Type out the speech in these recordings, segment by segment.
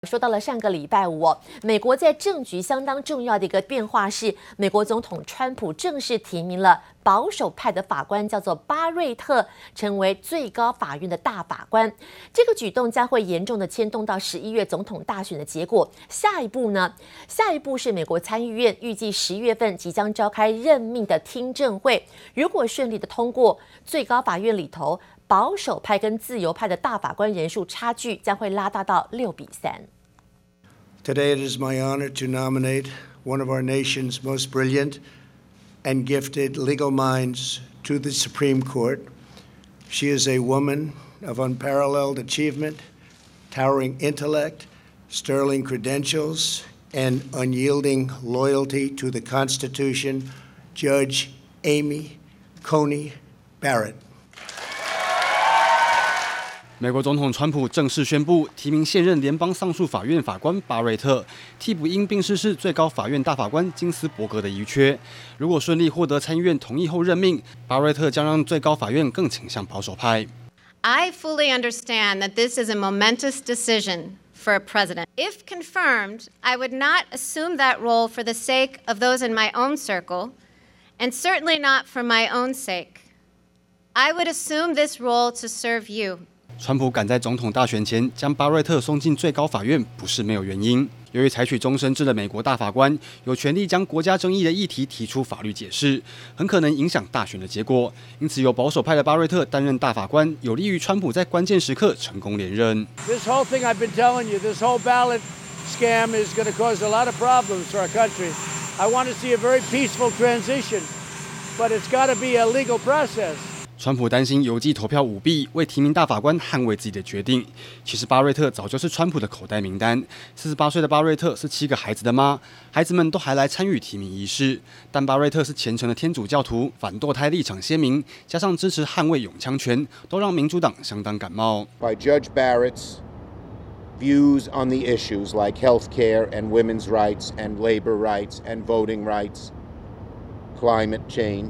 說到了上個禮拜五美國在政局相當重要的一個變化是，美國總統川普正式提名了保守派的法官，叫做巴瑞特，成為最高法院的大法官。這個舉動將會嚴重的牽動到11月總統大選的結果。下一步呢？下一步是美國參議院預計10月份即將召開任命的聽證會，如果順利的通過，最高法院裡頭保守派跟自由派的大法官人數差距將會拉大到6-3。 Today it is my honor to nominate one of our nation's most brilliant and gifted legal minds to the Supreme Court. She is a woman of unparalleled achievement, towering intellect, sterling credentials, and unyielding loyalty to the Constitution, Judge Amy Coney Barrett. 美國總統川普正式宣布提名現任聯邦上訴法院法官巴瑞特，替補因病逝世最高法院大法官金斯伯格的遺缺。如果順利獲得參議院同意後任命，巴瑞特將讓最高法院更傾向保守派。 I fully understand that this is a momentous decision for a president. If confirmed, I would not assume that role for the sake of those in my own circle, and certainly not for my own sake. I would assume this role to serve you. 川普趕在總統大選前將巴瑞特送進最高法院，不是沒有原因。由於採取終身制的美國大法官有權利將國家爭議的議題提出法律解釋，很可能影響大選的結果。因此，由保守派的巴瑞特擔任大法官，有利於川普在關鍵時刻成功連任。 This whole thing I've been telling you, this whole ballot scam is going to cause a lot of problems for our country. I want to see a very peaceful transition, but it's got to be a legal process. 川普擔心郵寄投票舞弊，為提名大法官捍衛自己的決定。其實巴瑞特早就是川普的口袋名單。48歲的巴瑞特是7個孩子的媽，孩子們都還來參與提名儀式。但巴瑞特是虔誠的天主教徒，反墮胎立場鮮明，加上支持捍衛擁槍權，都讓民主黨相當感冒。 By Judge Barrett's views on the issues like health care and women's rights and labor rights and voting rights, climate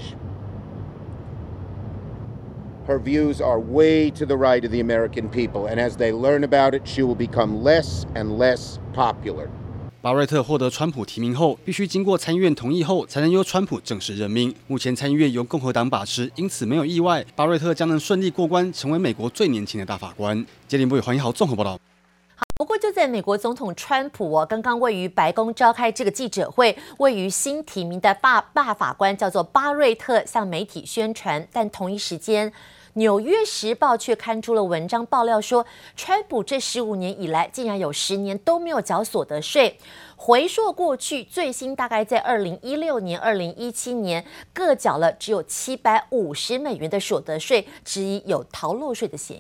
change.Her views are way to the right of the American people, and as they learn about it, she will become less and less popular. 巴瑞特獲得川普提名後，必須經過參議院同意後，才能由川普正式任命。目前參議院由共和黨把持，因此沒有意外，巴瑞特將能順利過關，成為美國最年輕的大法官。傑林部與黃一豪綜合報道。 不過，就在美國總統川普剛剛位於白宮召開這個記者會，位於新提名的大法官叫做巴瑞特向媒體宣傳，但同一時間，《紐約時報》卻刊出了文章爆料說，川普這15年以來竟然有10年都沒有繳所得稅。回溯過去，最新大概在2016年、2017年各繳了只有$750的所得稅，質疑有逃漏稅的嫌疑。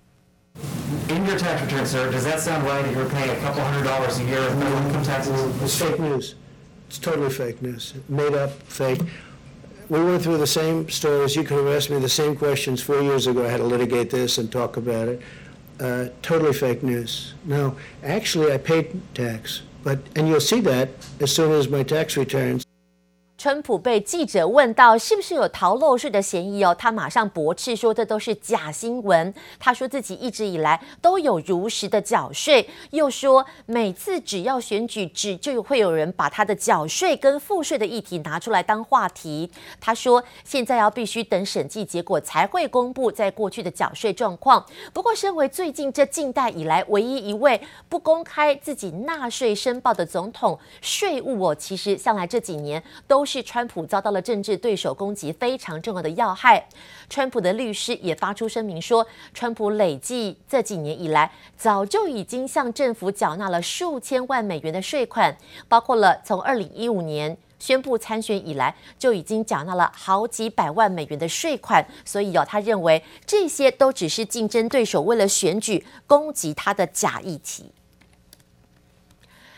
In your tax return, sir, does that sound right that you're paying a couple $100 a year of federal income taxes? It's fake news. It's totally fake news. Made up, fake. We went through the same stories. You could have asked me the same questions 4 years ago. I had to litigate this and talk about it. Totally fake news. No, actually, I paid tax. And you'll see that as soon as my tax returns. 川普被記者問到是不是有逃漏稅的嫌疑他馬上駁斥說這都是假新聞。他說自己一直以來都有如實的繳稅，又說每次只要選舉就會有人把他的繳稅跟賦稅的議題拿出來當話題。他說現在要必須等審計結果才會公布在過去的繳稅狀況。不過，身為最近這近代以來唯一一位不公開自己納稅申報的總統，稅務其實向來這幾年都是川普遭到了政治對手攻擊非常重要的要害。川普的律師也發出聲明說，川普累計這幾年以來，早就已經向政府繳納了數千萬美元的稅款，包括了從2015年宣布參選以來，就已經繳納了好幾百萬美元的稅款。所以他認為這些都只是競爭對手為了選舉攻擊他的假議題。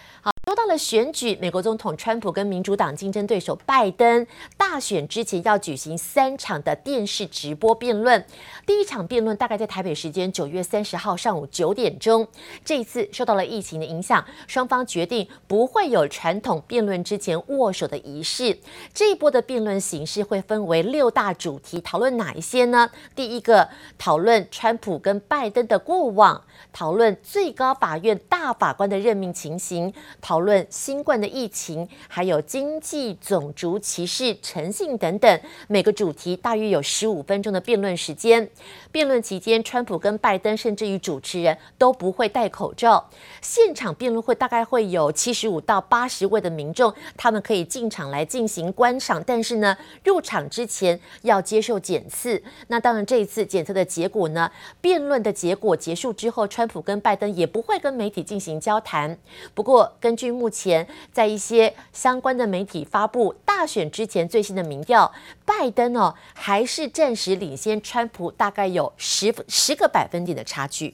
說到了選舉，美國總統川普跟民主黨競爭對手拜登，大選之前要舉行3場的電視直播辯論。第一場辯論大概在台北時間9月30號上午9點鐘。這一次受到了疫情的影響，雙方決定不會有傳統辯論之前握手的儀式。這一波的辯論形式會分為6大主題，討論哪一些呢？第一個，討論川普跟拜登的過往，討論最高法院大法官的任命情形，討論新冠的疫情，還有經濟、種族歧視、誠信等等。每個主題大約有15分鐘的辯論時間。辯論期間，川普跟拜登甚至於主持人都不會戴口罩。現場辯論會大概會有75到80位的民眾，他們可以進場來進行觀賞，但是呢，入場之前要接受檢測。那當然，這一次檢測的結果呢，辯論的結果結束之後，川普跟拜登也不會跟媒體進行交談。不過，根據目前在一些相關的媒體發布大選之前最新的民調，拜登還是暫時領先川普，大概有10個百分點的差距。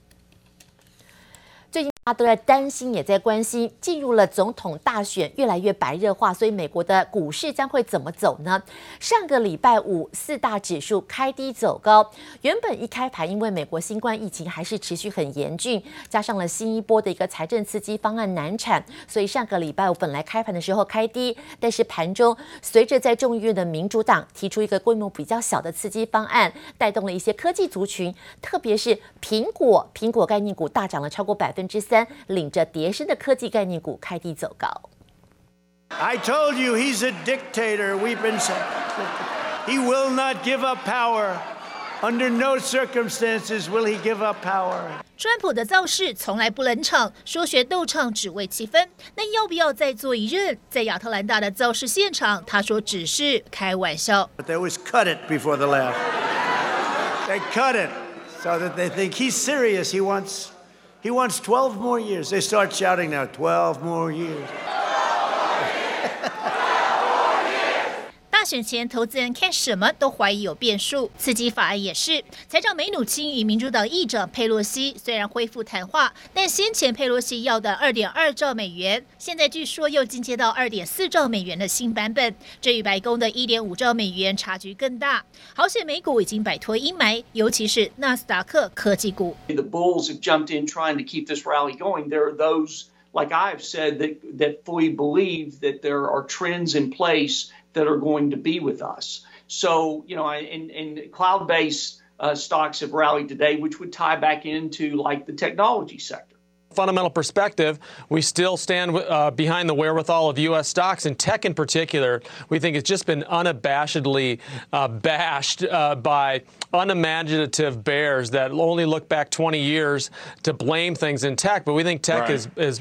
最近大家都在擔心，也在關心，進入了總統大選，越來越白熱化，所以美國的股市將會怎麼走呢？上個禮拜五，4大指數開低走高。原本一開盤，因為美國新冠疫情還是持續很嚴峻，加上了新一波的一個財政刺激方案難產，所以上個禮拜五本來開盤的時候開低，但是盤中隨着在眾議院的民主黨提出一個規模比較小的刺激方案，帶動了一些科技族群，特別是蘋果概念股大漲了超過3%。領着跌升的科技概念股開低走高。 I told you he's a dictator. We've been saying he will not give up power. Under no circumstances will he give up power. 川普的造勢從來不冷場，說學逗唱只為氣氛。那要不要再做一任？在亞特蘭大的造勢現場，他說只是開玩笑。 But they always cut it before the laugh. They cut it so that they think he's serious. He wants 12 more years. They start shouting now, 12 more years. 大選前，投資人看什麼都懷疑有變數，刺激法案也是。財長梅努欽與民主黨議長佩洛西雖然恢復談話，但先前佩洛西要的2.2兆美元，現在據說又進階到2.4兆美元的新版本，這與白宮的1.5兆美元差距更大。好險美股已經擺脫陰霾，尤其是納斯達克科技股。 The bulls have jumped in trying to keep this rally going. There are those, like I've said, that fully believe that there are trends in place that are going to be with us. So, and cloud-based stocks have rallied today, which would tie back into like the technology sector. Fundamental perspective, we still stand behind the wherewithal of U.S. stocks, and tech in particular. We think it's just been unabashedly bashed by unimaginative bears that only look back 20 years to blame things in tech. But we think tech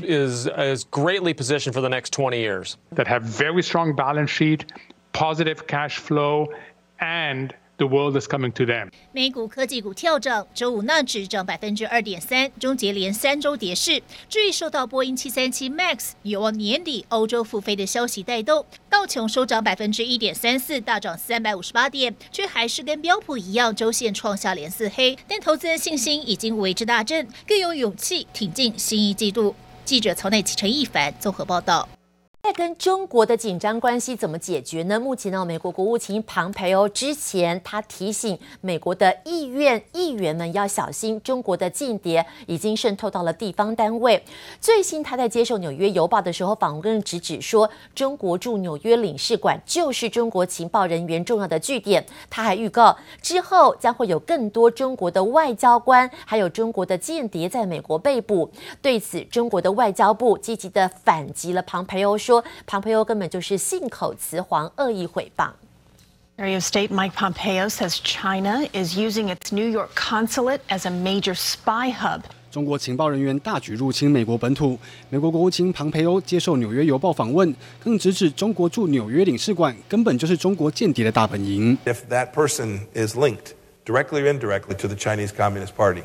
is greatly positioned for the next 20 years. That have very strong balance sheet, positive cash flow, and the world is coming to them. 美股科技股跳漲，周五納指漲2.3%，終結連3週跌勢。至於受到波音737 MAX 有望年底歐洲復飛的消息帶動，道瓊收漲1.34%，大漲358點，卻還是跟標普一樣，週線創下連4黑。但投資人信心已經為之大振，更有勇氣挺進新一季度。記者曹乃琪、陳一凡綜合報道。 在跟中國的緊張關係怎麼解決呢？目前呢，美國國務卿龐培歐之前他提醒美國的議員們要小心，中國的間諜已經滲透到了地方單位。最新他在接受紐約郵報的時候訪問直指說，中國駐紐約領事館就是中國情報人員重要的據點。他還預告之後將會有更多中國的外交官還有中國的間諜在美國被捕。對此，中國的外交部積極的反擊了龐培歐，說龐培歐根本就是信口雌黃、惡意誹謗。 Secretary of State Mike Pompeo says China is using its New York consulate as a major spy hub. 中國情報人員大舉入侵美國本土。美國國務卿龐培歐接受紐約郵報訪問，更直指中國駐紐約領事館根本就是中國間諜的大本營。 If that person is linked directly or indirectly to the Chinese Communist Party,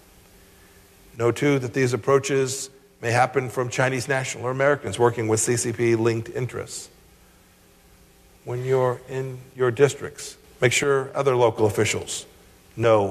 know too that these approaches may happen from Chinese national or Americans working with CCP-linked interests. When you're in your districts, make sure other local officials know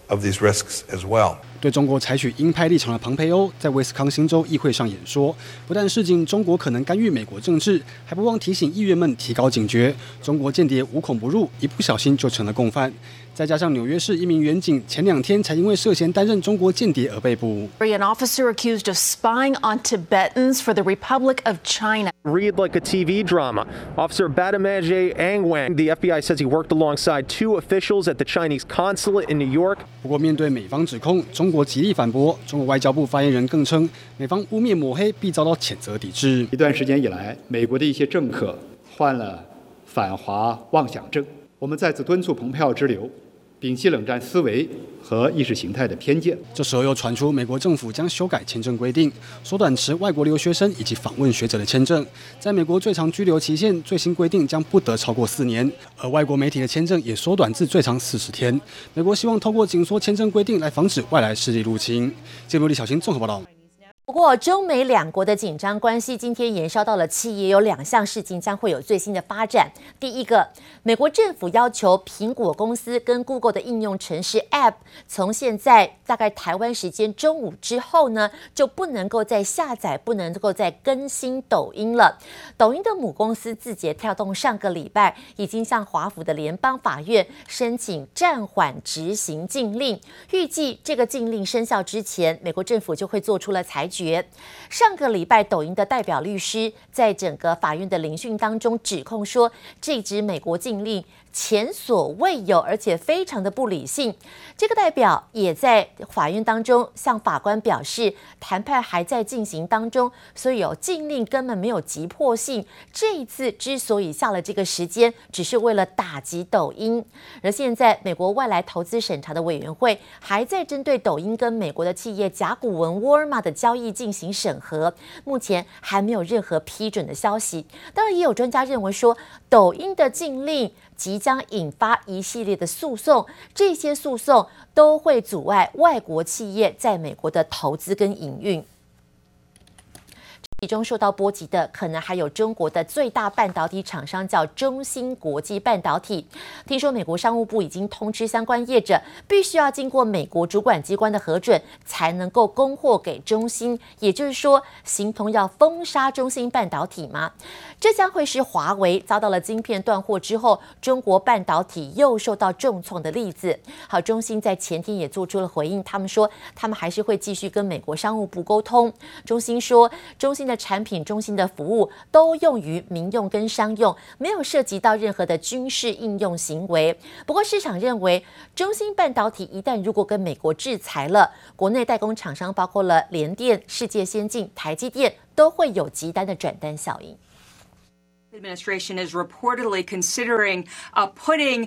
of these risks as well. 对中国採取鷹派立場的龐培歐在威斯康星州議會上演說，不但示警中國可能干預美國政治，還不忘提醒議員們提高警覺。中國間諜無孔不入，一不小心就成了共犯。再加上紐約市一名員警前2天才因為涉嫌擔任中國間諜而被捕。 An officer accused of spying on Tibetans for the Republic of China. Read like a TV drama. Officer Badamaje Angwang, the FBI says he worked alongside 2 officials at the Chinese consulate in New York. 不過面對美方指控，中國極力反駁。中國外交部發言人更稱，美方污衊抹黑必遭到譴責抵制。 一段時間以來，美國的一些政客患了反華妄想症。我們再次敦促蓬佩奧之流，摒棄冷戰思維和意識形態的偏見。 這時候又傳出美國政府將修改簽證規定，縮短持外國留學生以及訪問學者的簽證。在美國最長居留期限最新規定將不得超過4年，而外國媒體的簽證也縮短至最長40天。美國希望透過緊縮簽證規定來防止外來勢力入侵。節目李小新綜合報道。 不過，中美2國的緊張關係今天延燒到了企業，有2項事情將會有最新的發展。第一個，美國政府要求蘋果公司跟 Google 的應用程式 App， 從現在大概台灣時間中午之後呢，就不能夠再下載，不能夠再更新抖音了。抖音的母公司字節跳動上個禮拜已經向華府的聯邦法院申請暫緩執行禁令，預計這個禁令生效之前，美國政府就會做出了裁決。上個禮拜，抖音的代表律師在整個法院的聆訊當中指控說，這支美國禁令前所未有，而且非常的不理性。這個代表也在法院當中向法官表示，談判還在進行當中，所以禁令根本沒有急迫性。這一次之所以下了這個時間，只是為了打擊抖音。而現在，美國外來投資審查的委員會還在針對抖音跟美國的企業甲骨文 Walmart 的交易進行審核，目前還沒有任何批准的消息。當然，也有專家認為說，抖音的禁令即將引發一系列的訴訟，這些訴訟都會阻礙外國企業在美國的投資跟營運。其中受到波及的可能還有中國的最大半導體廠商，叫中芯國際半導體。聽說美國商務部已經通知相關業者，必須要經過美國主管機關的核准，才能夠供貨給中芯。也就是說，形同要封殺中芯半導體嗎？這將會是華為遭到了晶片斷貨之後，中國半導體又受到重創的例子。好，中芯在前天也做出了回應，他們說他們還是會繼續跟美國商務部溝通。中芯說，中芯的產品、中芯的服務都用於民用跟商用，沒有涉及到任何的軍事應用行為。不過市場認為，中芯半導體一旦如果跟美國制裁了，國內代工廠商包括了聯電、世界先進、台積電都會有極大的轉單效應。 The administration is reportedly considering putting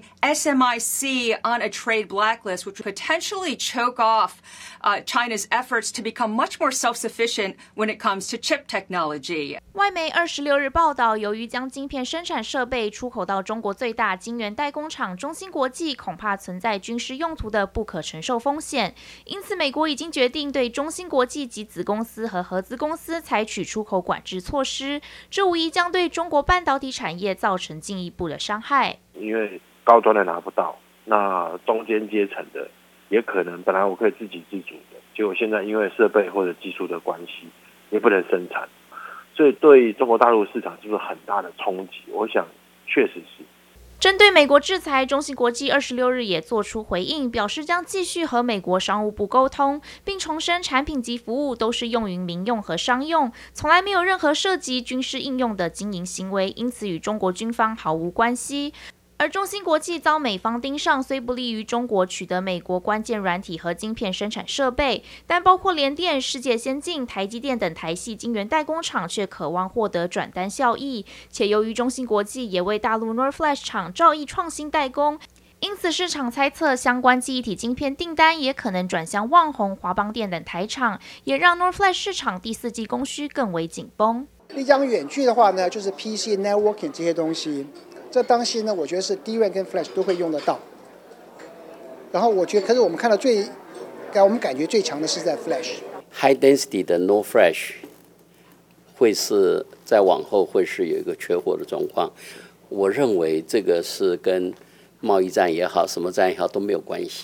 SMIC on a trade blacklist, which would potentially choke off China's efforts to become much more self-sufficient when it comes to chip technology. 外媒26日報道，由於將晶片生產設備出口到中國最大晶圓代工廠中芯國際，恐怕存在軍事用途的不可承受風險，因此美國已經決定對中芯國際及子公司和合資公司採取出口管制措施，這無疑將對中國半導體產業造成進一步的傷害。 因為高端的拿不到，那中間階層的也可能本來我可以自給自足的，結果現在因為設備或者技術的關係，也不能生產，所以對中國大陸市場是不是很大的衝擊？我想確實是。 針對美國制裁，中芯國際26日也做出回應，表示將繼續和美國商務部溝通，並重申產品及服務都是用於民用和商用，從來沒有任何涉及軍事應用的經營行為，因此與中國軍方毫無關係。而中芯國際遭美方盯上，雖不利於中國取得美國關鍵軟體和晶片生產設備，但包括聯電、世界先進、台積電等台系晶圓代工廠卻渴望獲得轉單效益。且由於中芯國際也為大陸 NOR Flash 廠兆易創新代工，因此市場猜測相關記憶體晶片訂單也可能轉向旺宏、華邦電等台廠，也讓 NOR Flash 市場第四季供需更為緊繃。 你講遠距的話呢，就是 PC networking 這些東西。這東西呢，我覺得是 DRAM 跟 Flash 都會用得到。然後我覺得，可是我們看到我們感覺最強的是在 Flash。High density 的 NOR Flash 會是在往後會是有一個缺貨的狀況。我認為這個是跟貿易戰也好，什麼戰也好都沒有關係的。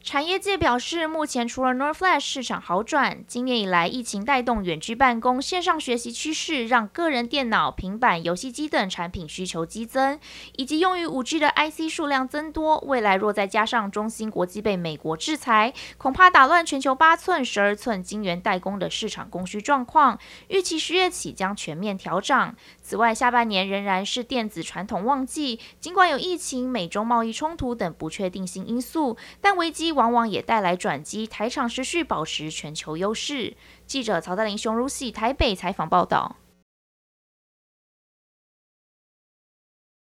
產業界表示，目前除了 NOR Flash 市場好轉，今年以來疫情帶動遠距辦公、線上學習趨勢，讓個人電腦、平板、遊戲機等產品需求激增，以及用於 5G 的 IC 數量增多。未來若再加上中芯國際被美國制裁，恐怕打亂全球8寸、12寸晶圓代工的市場供需狀況，預期10月起將全面調漲。此外，下半年仍然是電子傳統旺季，儘管有疫情、美中貿易衝突等不確定性因素，但危機往往也帶來轉機，台廠持續保持全球優勢。記者曹德林、熊如喜台北採訪報道。